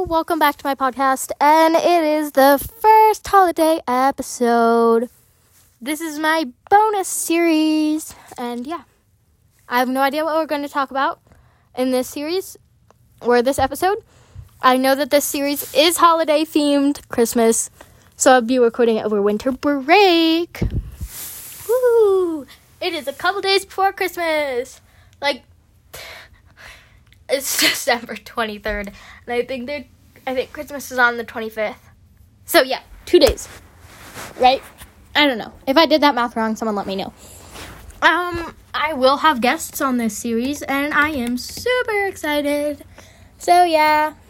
welcome back to my podcast, and it is the first holiday episode. This is my bonus series, and yeah, I have no idea what we're going to talk about in this series, or this episode. I know that this series is holiday themed, Christmas, so I'll be recording it over winter break. Woo! It is a couple days before Christmas. It's December 23rd, and I think Christmas is on the 25th. So yeah, 2 days, right? I don't know. If I did that math wrong, someone let me know. I will have guests on this series, and I am super excited. So yeah.